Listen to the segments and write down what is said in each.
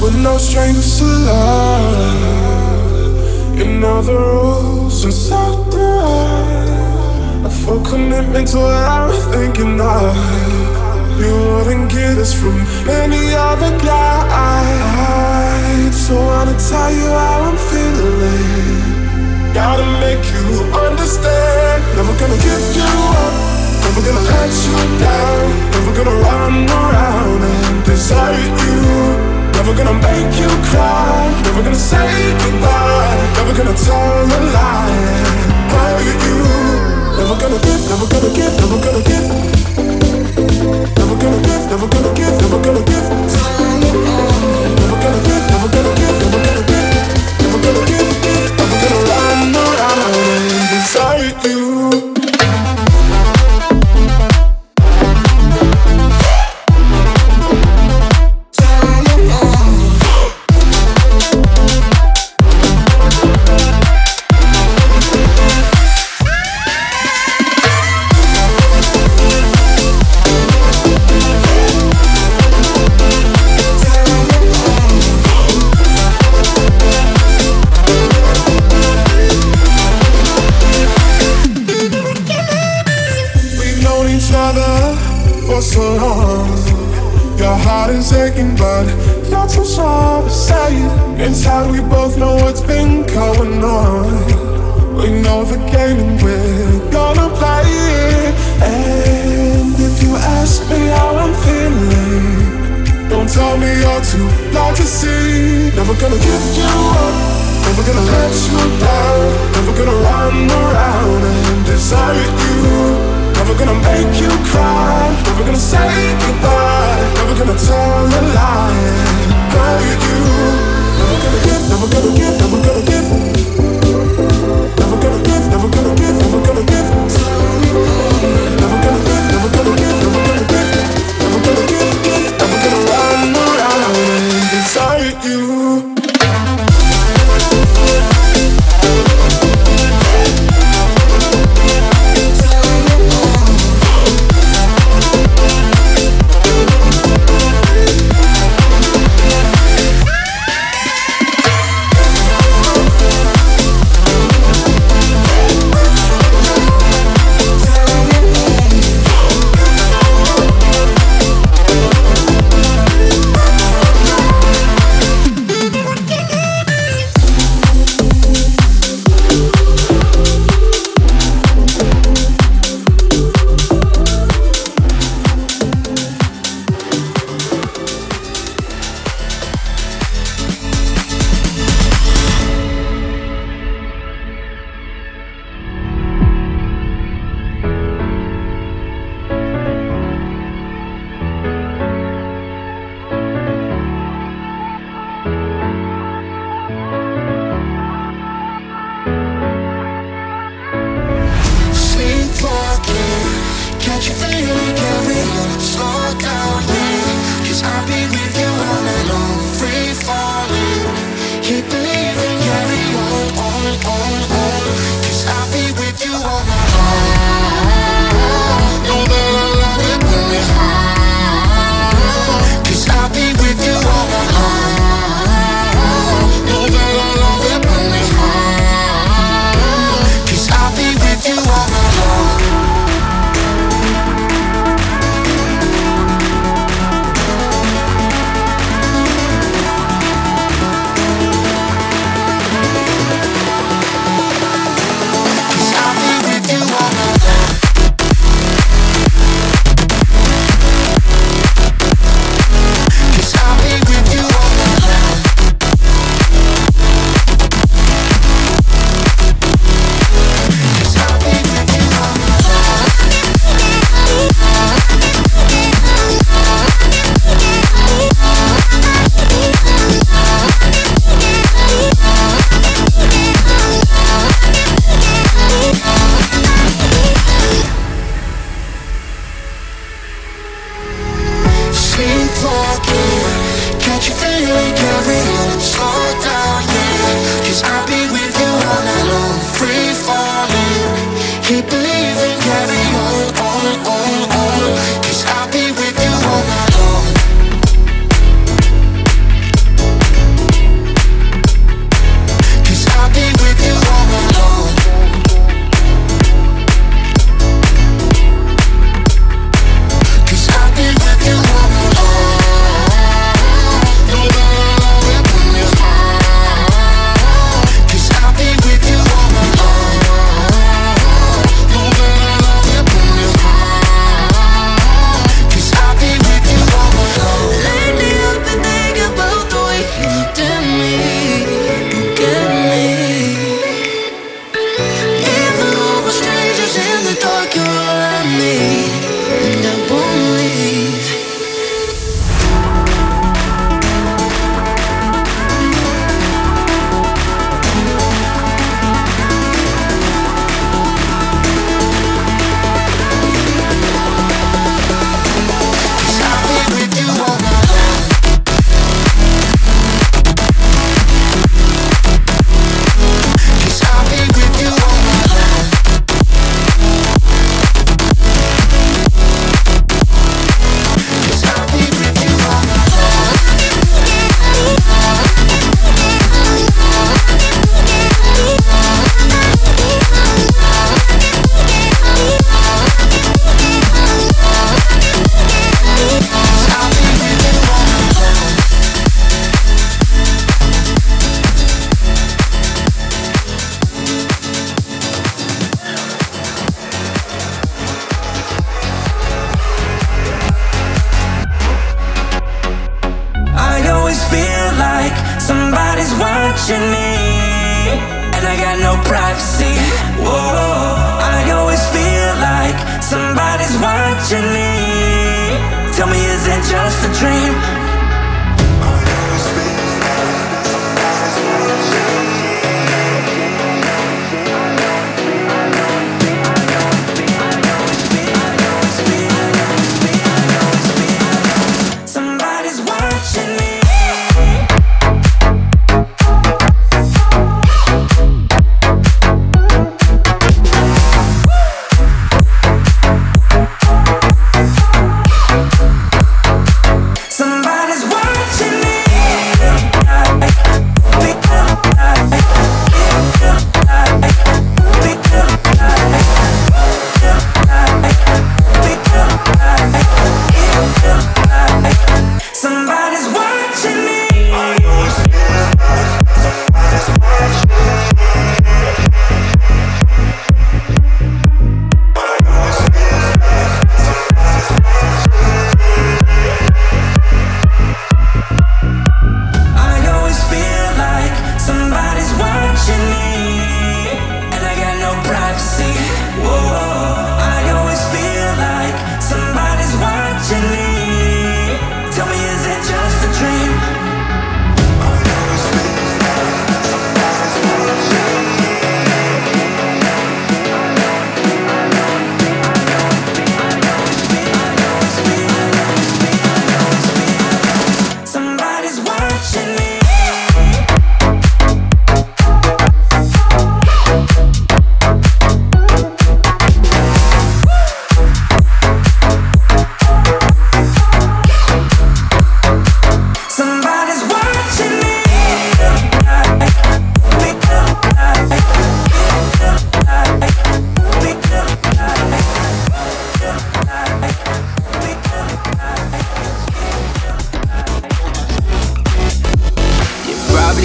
We're no strangers to love. You know the rules, and so do I. A full commitment to what I was thinking of. You wouldn't get this from any other guy. So I wanna tell you how I'm feeling. Gotta make you understand. Never gonna give you up, never gonna let you down. Never gonna run around and desert you. Never gonna make you cry, never gonna say goodbye. Never gonna tell a lie and hurt you. Never gonna give, never gonna give, never gonna give. Never gonna give, never gonna give, never gonna give. Never gonna give, never gonna give, never gonna give. Never gonna give, never gonna run around and desert you. So long, your heart is aching, but you're too shy to say it. Inside we both know what's been going on. We know the game and we're gonna play it. And if you ask me how I'm feeling, don't tell me you're too blind to see. Never gonna give you up, never gonna let you down. Never gonna run around and desert you. Never gonna make you cry, never gonna say goodbye. Never gonna tell a lie and hurt you. Never gonna give, never gonna give, never gonna give. Never gonna give, never gonna give, never gonna give. Never gonna give, never gonna give, never gonna give. Never gonna give, never gonna run around and desert you.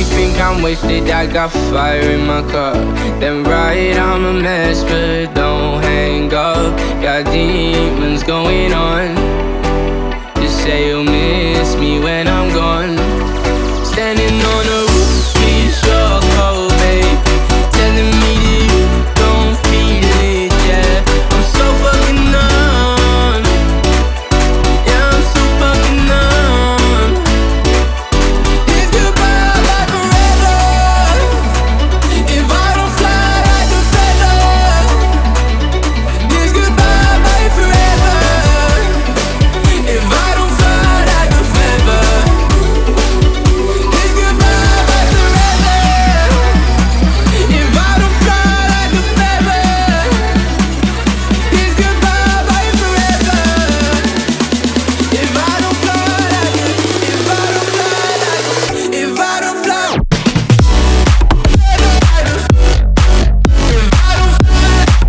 Probably think I'm wasted, I got fire in my cup. Then right, I'm a mess, but don't hang up. Got demons going on. Just say you'll miss me when I'm gone. Standing on a roof, it's your cold, babe. Telling me that you don't feel it, yeah. I'm so fucking numb. Yeah, I'm so fucking numb. If goodbye like forever, if I don't fly like a feather, this goodbye like forever. If I don't fly like a feather, this goodbye like forever. If I don't fly like a feather, this goodbye like forever. If I don't fly like a, if I don't fly like a, if I don't fly like a, if I don't fly like a,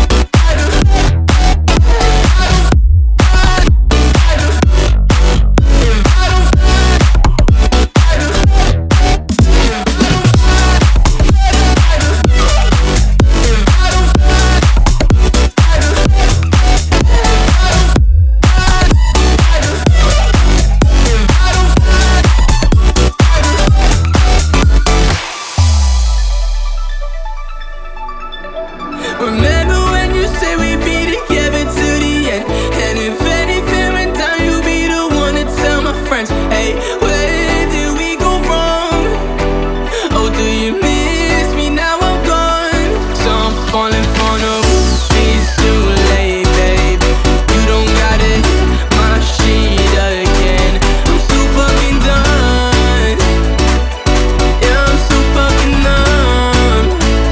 remember when you said we'd be together till the end? And if anything went down, you'd be the one to tell my friends. Hey, where did we go wrong? Oh, do you miss me now I'm gone? So I'm falling for no roof, it's too late, babe. You don't gotta hit my shit again. I'm so fucking done. Yeah, I'm so fucking numb.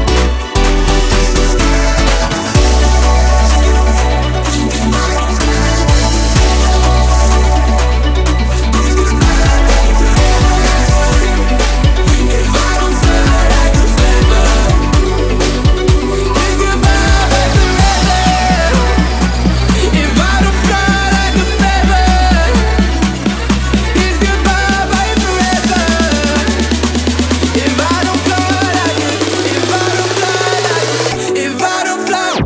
If I don't fly like a feather, this goodbye like forever. If I don't fly like a feather, this goodbye like forever. If I don't fly like a, if I don't fly like a, if I don't fly like a,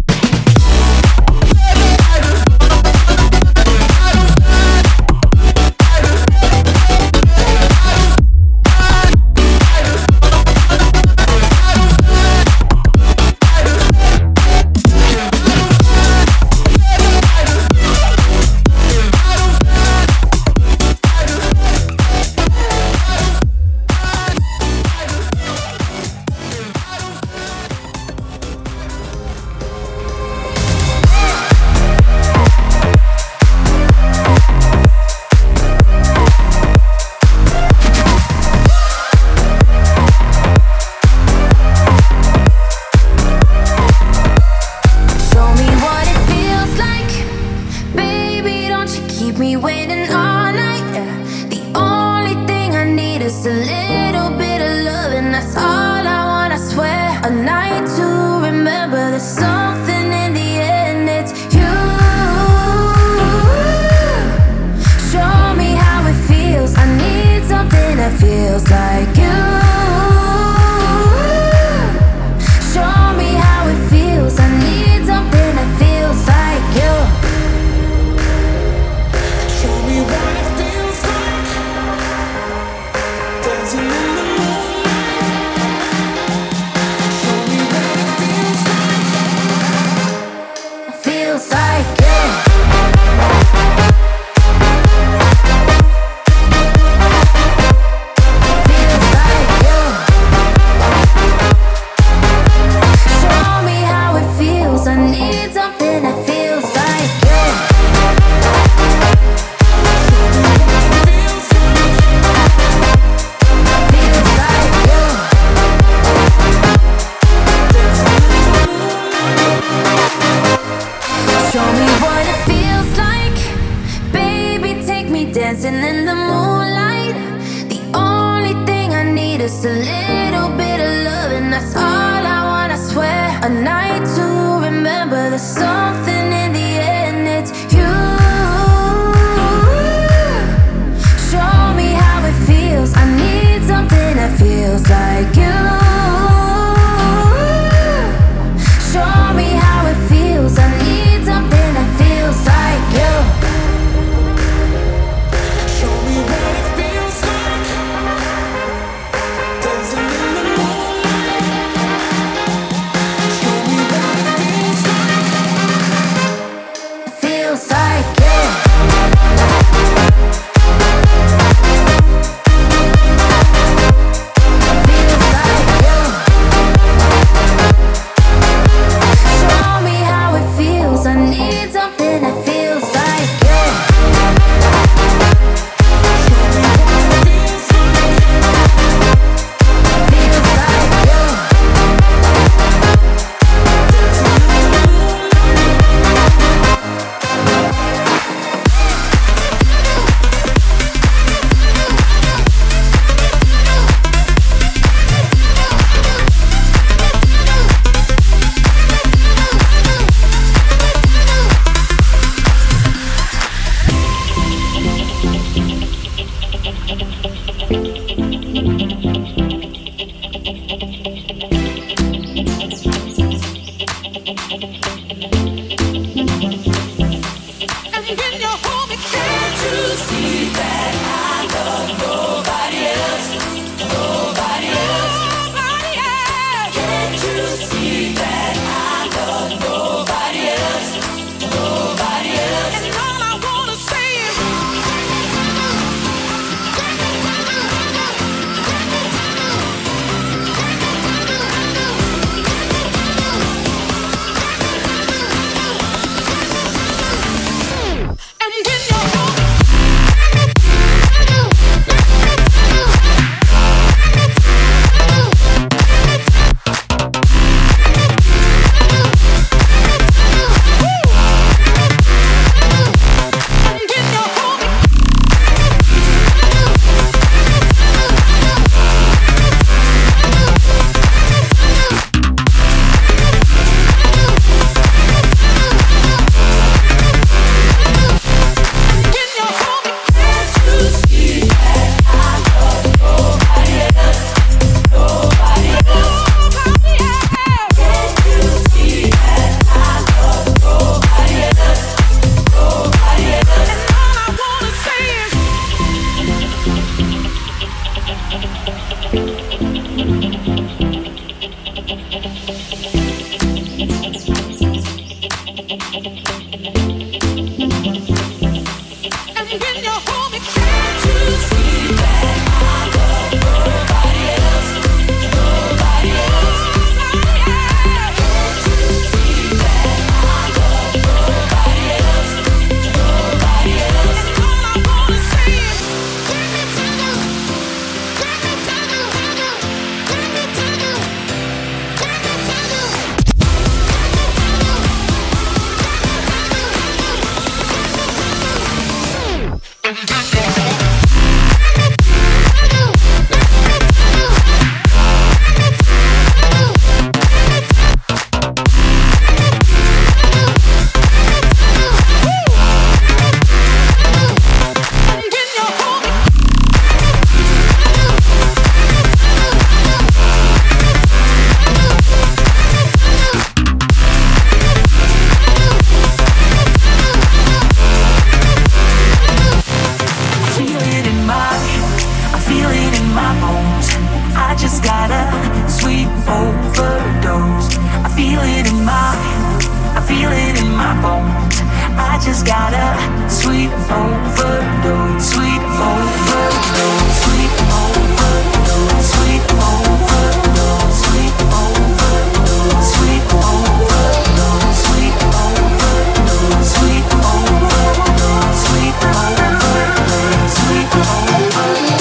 Show me what it feels like, baby. Don't you keep me waiting all night. Yeah. The only thing I need is a little bit of love, and that's all I want. I swear, a night to remember. There's something in the end. It's you. Show me how it feels. I need something that feels like you. Show me how it feels. I need something that feels like you. Show me what it feels like, dancing in the moonlight. Show me what it feels like. Feels like you. Feels like you. Show me how it feels. I need something that feels like you. Feels like Feels like you. Show me what it feels like, baby. Take me dancing in the moonlight. The only thing I need is a little bit of love, and that's all I want. I swear, a night to remember. There's something in the end. It's you. Show me how it feels. I need something that feels I just got a sweet overdose. I feel it in my bones. I just got a sweet overdose. Sweet overdose. Sweet overdose. Sweet overdose. Sweet overdose. Sweet overdose. Sweet overdose. Sweet overdose. Sweet overdose. Sweet overdose.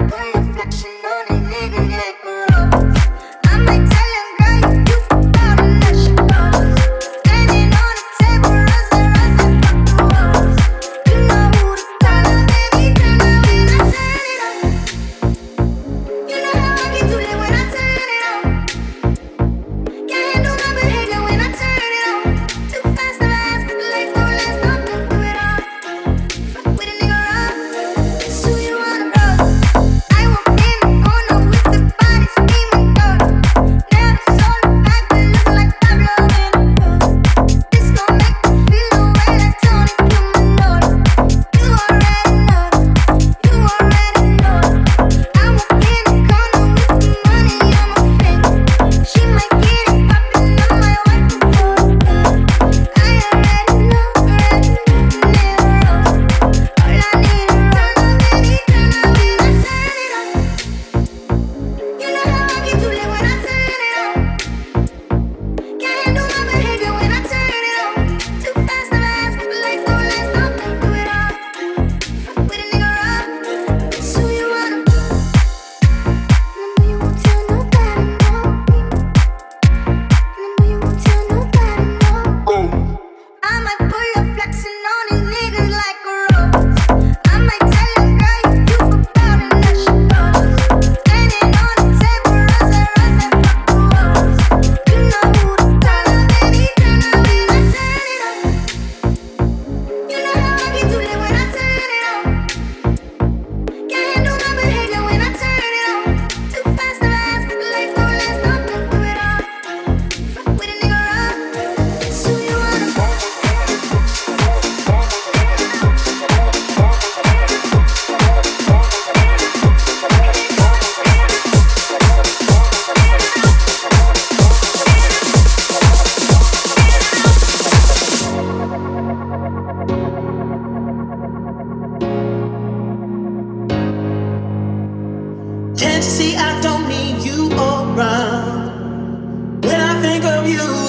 Can't you see I don't need you around? When I think of you,